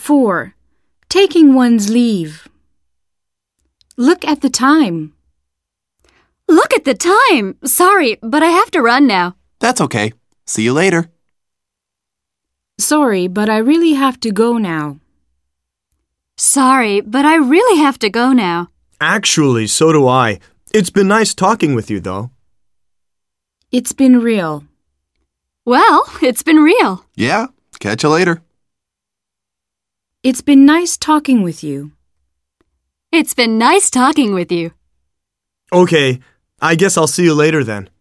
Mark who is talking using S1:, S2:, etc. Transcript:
S1: 4. Taking one's leave. Look at the time.
S2: Look at the time! Sorry, but I have to run now.
S3: That's okay. See you later.
S1: Sorry, but I really have to go now.
S2: Sorry, but I really have to go now.
S4: Actually, so do I. It's been nice talking with you, though.
S1: It's been real.
S2: Well, it's been real.
S3: Yeah, catch you later.
S1: It's been nice talking with you.
S2: It's been nice talking with you.
S4: Okay, I guess I'll see you later then.